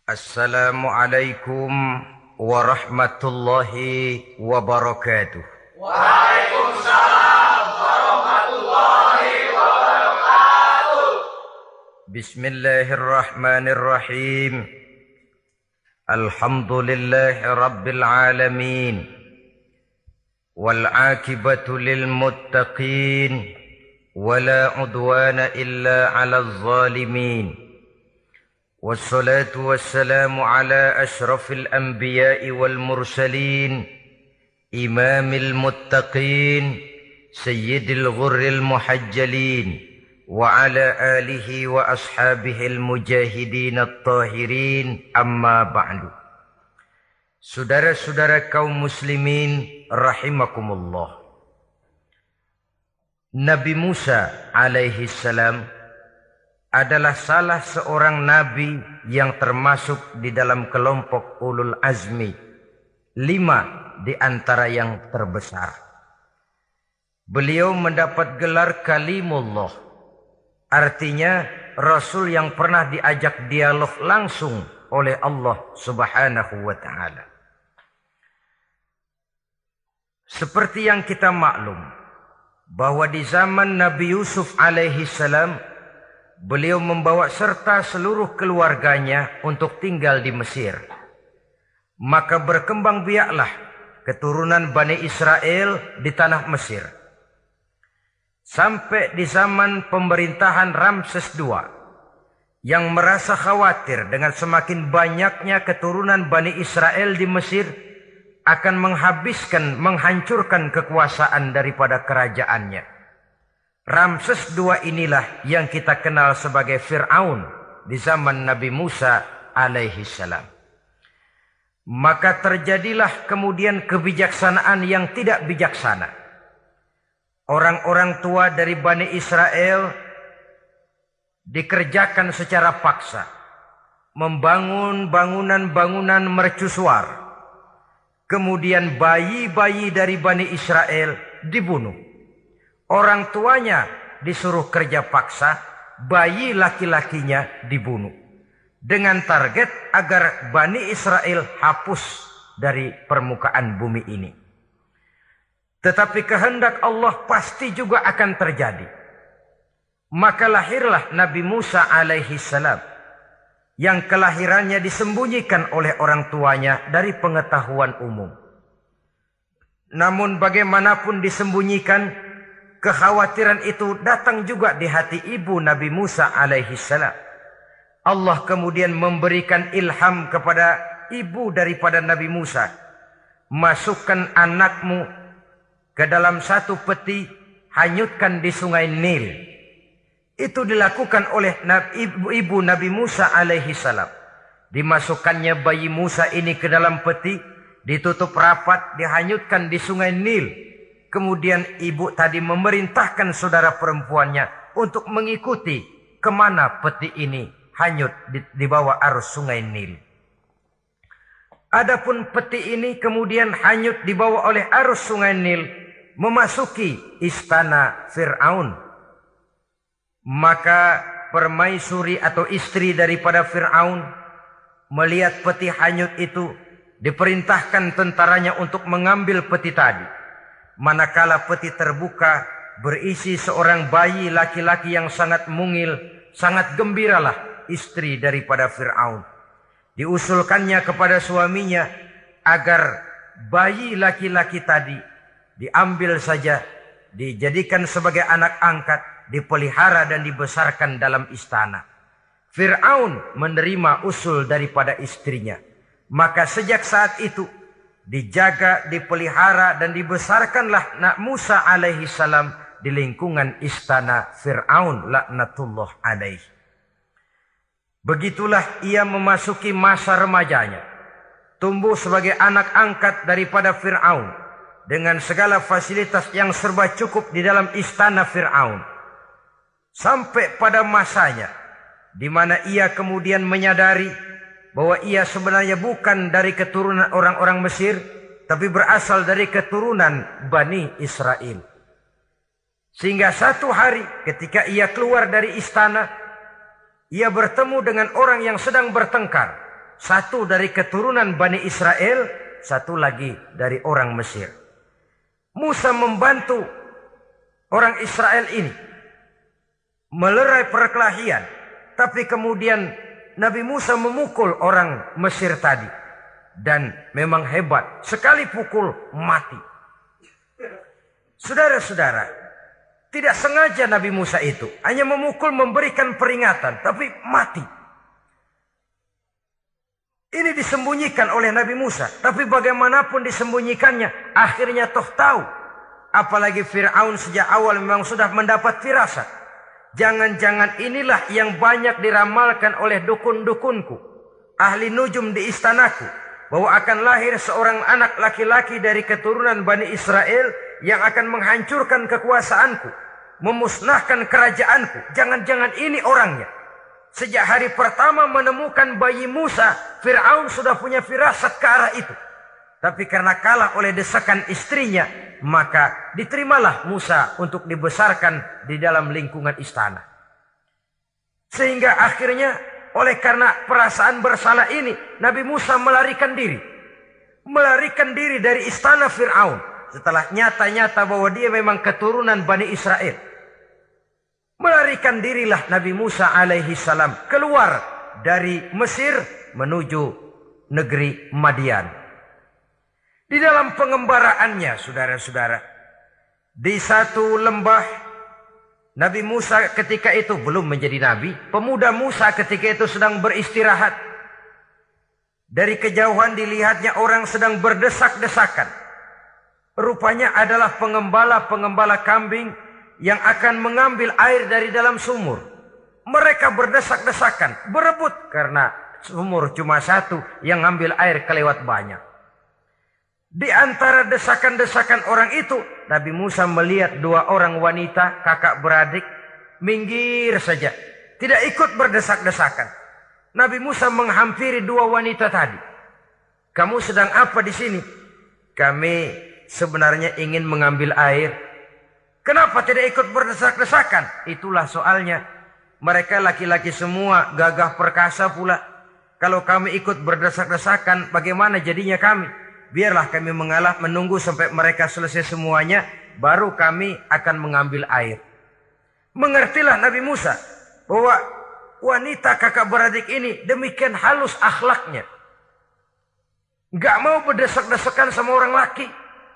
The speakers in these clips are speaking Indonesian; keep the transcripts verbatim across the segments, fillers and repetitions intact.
Assalamualaikum warahmatullahi wabarakatuh. Waalaikumsalam warahmatullahi wabarakatuh. Bismillahirrahmanirrahim. Alhamdulillahi rabbil alamin. Wal akibatu lil muttaqin. Wala udwana illa 'alal zalimin. والصلاة والسلام على أشرف الأنبياء والمرسلين إمام المتقين سيد الغر المحجلين وعلى آله وأصحابه المجاهدين الطاهرين أما بعد. Saudara-saudara kaum muslimin rahimakumullah. Nabi Musa alaihi salam adalah salah seorang nabi yang termasuk di dalam kelompok ulul azmi, lima di antara yang terbesar. Beliau mendapat gelar kalimullah, artinya rasul yang pernah diajak dialog langsung oleh Allah Subhanahu wa taala. Seperti yang kita maklum bahwa di zaman Nabi Yusuf alaihi salam beliau membawa serta seluruh keluarganya untuk tinggal di Mesir. Maka berkembang biaklah keturunan Bani Israel di tanah Mesir. Sampai di zaman pemerintahan Ramses kedua yang merasa khawatir dengan semakin banyaknya keturunan Bani Israel di Mesir akan menghabiskan, menghancurkan kekuasaan daripada kerajaannya. Ramses kedua inilah yang kita kenal sebagai Fir'aun di zaman Nabi Musa alaihi salam. Maka terjadilah kemudian kebijaksanaan yang tidak bijaksana. Orang-orang tua dari Bani Israel dikerjakan secara paksa, membangun bangunan-bangunan mercusuar. Kemudian bayi-bayi dari Bani Israel dibunuh. Orang tuanya disuruh kerja paksa, bayi laki-lakinya dibunuh. Dengan target agar Bani Israel hapus dari permukaan bumi ini. Tetapi kehendak Allah pasti juga akan terjadi. Maka lahirlah Nabi Musa alaihi salam yang kelahirannya disembunyikan oleh orang tuanya dari pengetahuan umum. Namun bagaimanapun disembunyikan, kekhawatiran itu datang juga di hati ibu Nabi Musa alaihi salam. Allah kemudian memberikan ilham kepada ibu daripada Nabi Musa. Masukkan anakmu ke dalam satu peti, hanyutkan di sungai Nil. Itu dilakukan oleh ibu, ibu Nabi Musa alaihi salam. Dimasukkannya bayi Musa ini ke dalam peti, ditutup rapat, dihanyutkan di sungai Nil. Kemudian ibu tadi memerintahkan saudara perempuannya untuk mengikuti kemana peti ini hanyut di, di bawah arus sungai Nil. Adapun peti ini kemudian hanyut dibawa oleh arus sungai Nil memasuki istana Fir'aun. Maka permaisuri atau istri daripada Fir'aun melihat peti hanyut itu, diperintahkan tentaranya untuk mengambil peti tadi. Manakala peti terbuka berisi seorang bayi laki-laki yang sangat mungil, sangat gembiralah istri daripada Fir'aun. Diusulkannya kepada suaminya agar bayi laki-laki tadi diambil saja, dijadikan sebagai anak angkat, dipelihara dan dibesarkan dalam istana. Fir'aun menerima usul daripada istrinya. Maka sejak saat itu dijaga, dipelihara dan dibesarkanlah Nabi Musa alaihi salam di lingkungan istana Fir'aun laknatullah alaihi. Begitulah ia memasuki masa remajanya. Tumbuh sebagai anak angkat daripada Fir'aun dengan segala fasilitas yang serba cukup di dalam istana Fir'aun. Sampai pada masanya di mana ia kemudian menyadari bahwa ia sebenarnya bukan dari keturunan orang-orang Mesir, tapi berasal dari keturunan Bani Israel. Sehingga satu hari ketika ia keluar dari istana, ia bertemu dengan orang yang sedang bertengkar Satu dari keturunan Bani Israel, satu lagi dari orang Mesir. Musa membantu orang Israel ini melerai perkelahian. Tapi kemudian Nabi Musa memukul orang Mesir tadi. Dan memang hebat. Sekali pukul mati. Saudara-saudara, tidak sengaja Nabi Musa itu hanya memukul memberikan peringatan. Tapi mati. Ini disembunyikan oleh Nabi Musa. Tapi bagaimanapun disembunyikannya, akhirnya toh tahu. Apalagi Fir'aun sejak awal memang sudah mendapat firasat. Jangan-jangan inilah yang banyak diramalkan oleh dukun-dukunku, ahli nujum di istanaku, bahwa akan lahir seorang anak laki-laki dari keturunan Bani Israel yang akan menghancurkan kekuasaanku, memusnahkan kerajaanku. Jangan-jangan ini orangnya. Sejak hari pertama menemukan bayi Musa, Fir'aun sudah punya firasat ke arah itu. Tapi karena kalah oleh desakan istrinya, maka diterimalah Musa untuk dibesarkan di dalam lingkungan istana. Sehingga akhirnya oleh karena perasaan bersalah ini, Nabi Musa melarikan diri. Melarikan diri dari istana Fir'aun. Setelah nyata-nyata bahwa dia memang keturunan Bani Israel. Melarikan dirilah Nabi Musa alaihi salam keluar dari Mesir menuju negeri Madian. Di dalam pengembaraannya, saudara-saudara, di satu lembah, Nabi Musa ketika itu belum menjadi nabi. Pemuda Musa ketika itu sedang beristirahat. Dari kejauhan dilihatnya orang sedang berdesak-desakan. Rupanya adalah pengembala-pengembala kambing yang akan mengambil air dari dalam sumur. Mereka berdesak-desakan, berebut karena sumur cuma satu, yang ngambil air kelewat banyak. Di antara desakan-desakan orang itu, Nabi Musa melihat dua orang wanita, kakak beradik, minggir saja. Tidak ikut berdesak-desakan. Nabi Musa menghampiri dua wanita tadi. Kamu sedang apa di sini? Kami sebenarnya ingin mengambil air. Kenapa tidak ikut berdesak-desakan? Itulah soalnya. Mereka laki-laki semua, gagah perkasa pula. Kalau kami ikut berdesak-desakan, bagaimana jadinya kami? Biarlah kami mengalah menunggu sampai mereka selesai semuanya, baru kami akan mengambil air. Mengertilah Nabi Musa bahwa wanita kakak beradik ini demikian halus akhlaknya. Gak mau berdesak-desakan sama orang laki.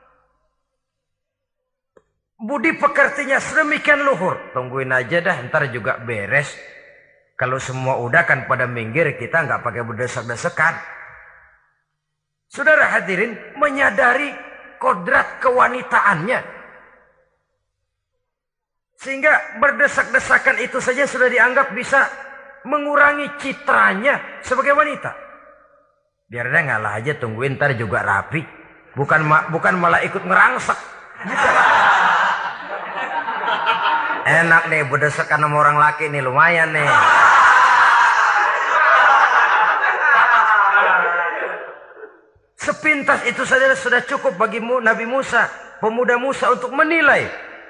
Budi pekertinya sedemikian luhur. Tungguin aja dah, ntar juga beres. Kalau semua udah kan pada minggir, kita nggak pakai berdesak-desakan. Saudara hadirin, menyadari kodrat kewanitaannya. Sehingga berdesak-desakan itu saja sudah dianggap bisa mengurangi citranya sebagai wanita. Biar dia ngalah aja, tungguin ntar juga rapi. Bukan bukan malah ikut ngerangsek. Gitu. Enak nih berdesakan sama orang laki nih, lumayan nih. Sepintas itu saja sudah cukup bagi Nabi Musa, pemuda Musa, untuk menilai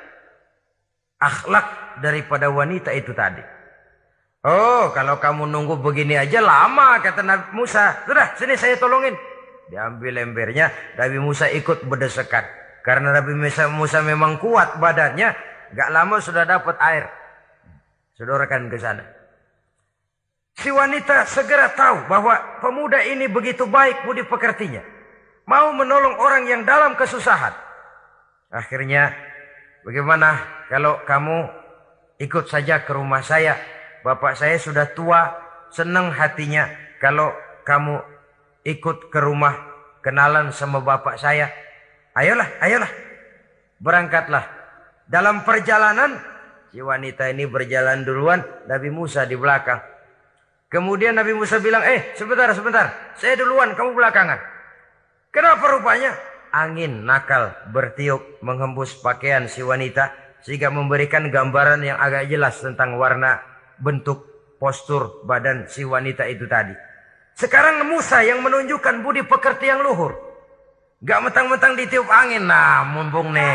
akhlak daripada wanita itu tadi. Oh, kalau kamu nunggu begini aja lama, kata Nabi Musa. Sudah, sini saya tolongin. Diambil embernya, Nabi Musa ikut berdesakan. Karena Nabi Musa, Musa memang kuat badannya. Gak lama sudah dapat air. Sodorkan ke sana. Si wanita segera tahu bahwa pemuda ini begitu baik budi pekertinya. Mau menolong orang yang dalam kesusahan. Akhirnya, bagaimana kalau kamu ikut saja ke rumah saya? Bapak saya sudah tua, senang hatinya kalau kamu ikut ke rumah kenalan sama bapak saya. Ayolah, ayolah. Berangkatlah. Dalam perjalanan, si wanita ini berjalan duluan, Nabi Musa di belakang. Kemudian Nabi Musa bilang, eh sebentar, sebentar, saya duluan, kamu belakangan. Kenapa rupanya? Angin nakal bertiup menghembus pakaian si wanita, sehingga memberikan gambaran yang agak jelas tentang warna, bentuk, postur badan si wanita itu tadi. Sekarang Musa yang menunjukkan budi pekerti yang luhur. Gak mentang-mentang ditiup angin, nah mumpung nih.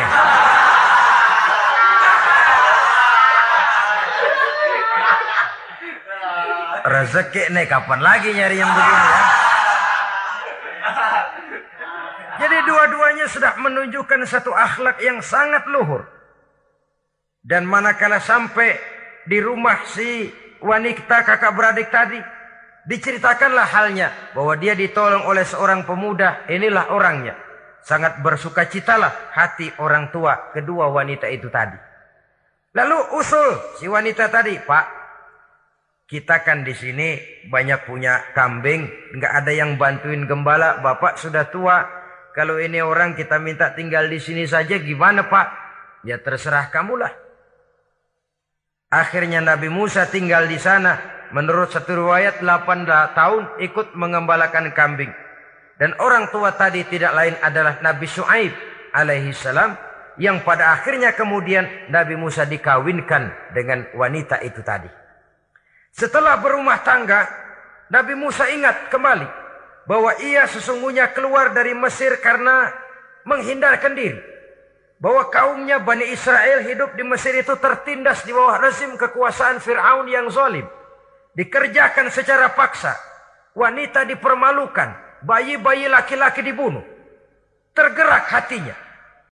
Rezeki nih, kapan lagi nyari yang begini ya? Kedua-duanya sudah menunjukkan satu akhlak yang sangat luhur. Dan manakala sampai di rumah si wanita kakak beradik tadi, diceritakanlah halnya bahwa dia ditolong oleh seorang pemuda. Inilah orangnya. Sangat bersukacitalah hati orang tua kedua wanita itu tadi. Lalu usul si wanita tadi, Pak, kita kan di sini banyak punya kambing, nggak ada yang bantuin gembala. Bapak sudah tua. Kalau ini orang kita minta tinggal di sini saja, gimana Pak? Ya terserah kamulah. Akhirnya Nabi Musa tinggal di sana. Menurut satu riwayat delapan tahun ikut mengembalakan kambing. Dan orang tua tadi tidak lain adalah Nabi Syuaib alaihi salam, yang pada akhirnya kemudian Nabi Musa dikawinkan dengan wanita itu tadi. Setelah berumah tangga, Nabi Musa ingat kembali bahwa ia sesungguhnya keluar dari Mesir karena menghindarkan diri. Bahwa kaumnya Bani Israel hidup di Mesir itu tertindas di bawah rezim kekuasaan Fir'aun yang zalim. Dikerjakan secara paksa. Wanita dipermalukan. Bayi-bayi laki-laki dibunuh. Tergerak hatinya.